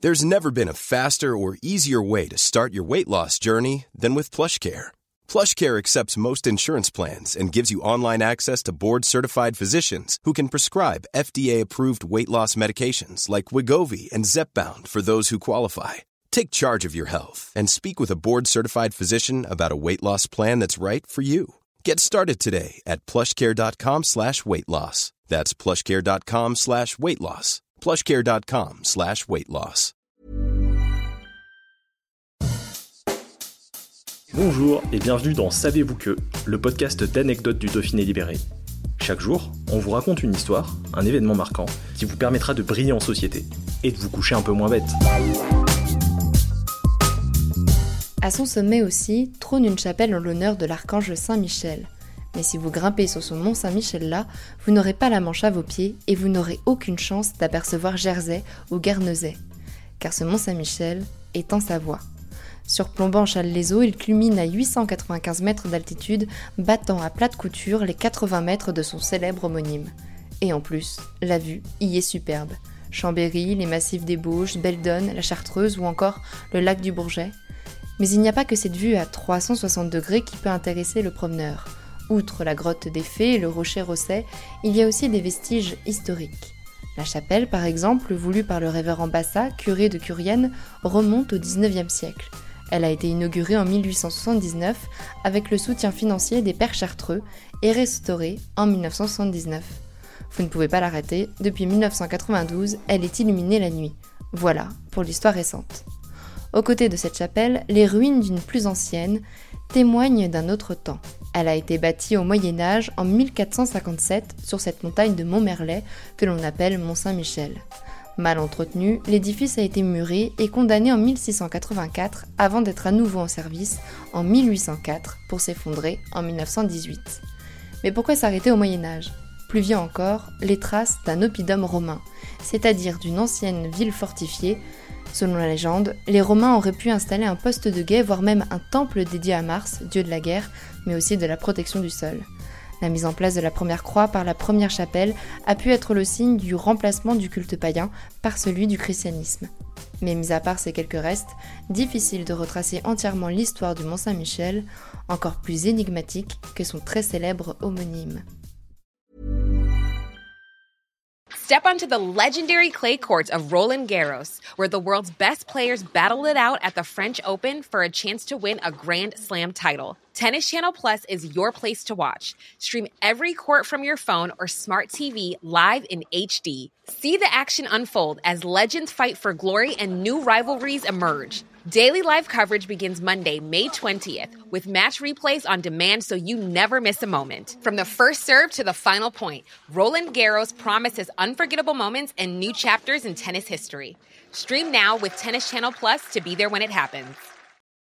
There's never been a faster or easier way to start your weight loss journey than with PlushCare. PlushCare accepts most insurance plans and gives you online access to board-certified physicians who can prescribe FDA-approved weight loss medications like Wegovy and Zepbound for those who qualify. Take charge of your health and speak with a board-certified physician about a weight loss plan that's right for you. Get started today at plushcare.com/weight loss. That's plushcare.com/weight loss. plushcare.com/weight loss. Bonjour et bienvenue dans Savez-vous que, le podcast d'anecdotes du Dauphiné libéré. Chaque jour, on vous raconte une histoire, un événement marquant, qui vous permettra de briller en société et de vous coucher un peu moins bête. À son sommet aussi, trône une chapelle en l'honneur de l'archange Saint-Michel. Mais si vous grimpez sur ce mont Saint-Michel-là, vous n'aurez pas la Manche à vos pieds et vous n'aurez aucune chance d'apercevoir Jersey ou Guernesey. Car ce mont Saint-Michel est en Savoie. Surplombant Challes-les-Eaux, il culmine à 895 mètres d'altitude, battant à plat de couture les 80 mètres de son célèbre homonyme. Et en plus, la vue y est superbe. Chambéry, les massifs des Bauges, Beldon, la Chartreuse ou encore le lac du Bourget. Mais il n'y a pas que cette vue à 360 degrés qui peut intéresser le promeneur. Outre la grotte des Fées et le rocher Rosset, il y a aussi des vestiges historiques. La chapelle, par exemple, voulue par le révérend Bassa, curé de Curienne, remonte au XIXe siècle. Elle a été inaugurée en 1879 avec le soutien financier des Pères Chartreux et restaurée en 1979. Vous ne pouvez pas la rater, depuis 1992, elle est illuminée la nuit. Voilà pour l'histoire récente. Aux côtés de cette chapelle, les ruines d'une plus ancienne témoignent d'un autre temps. Elle a été bâtie au Moyen-Âge en 1457 sur cette montagne de Montmerlet que l'on appelle Mont-Saint-Michel. Mal entretenu, l'édifice a été muré et condamné en 1684 avant d'être à nouveau en service en 1804 pour s'effondrer en 1918. Mais pourquoi s'arrêter au Moyen-Âge ? Plus vieux encore, les traces d'un oppidum romain, c'est-à-dire d'une ancienne ville fortifiée. Selon la légende, les Romains auraient pu installer un poste de guet, voire même un temple dédié à Mars, dieu de la guerre, mais aussi de la protection du sol. La mise en place de la première croix par la première chapelle a pu être le signe du remplacement du culte païen par celui du christianisme. Mais mis à part ces quelques restes, difficile de retracer entièrement l'histoire du Mont Saint-Michel, encore plus énigmatique que son très célèbre homonyme. Step onto the legendary clay courts of Roland Garros, where the world's best players battle it out at the French Open for a chance to win a Grand Slam title. Tennis Channel Plus is your place to watch. Stream every court from your phone or smart TV live in HD. See the action unfold as legends fight for glory and new rivalries emerge. Daily live coverage begins Monday, May 20th, with match replays on demand so you never miss a moment. From the first serve to the final point, Roland Garros promises unforgettable moments and new chapters in tennis history. Stream now with Tennis Channel Plus to be there when it happens.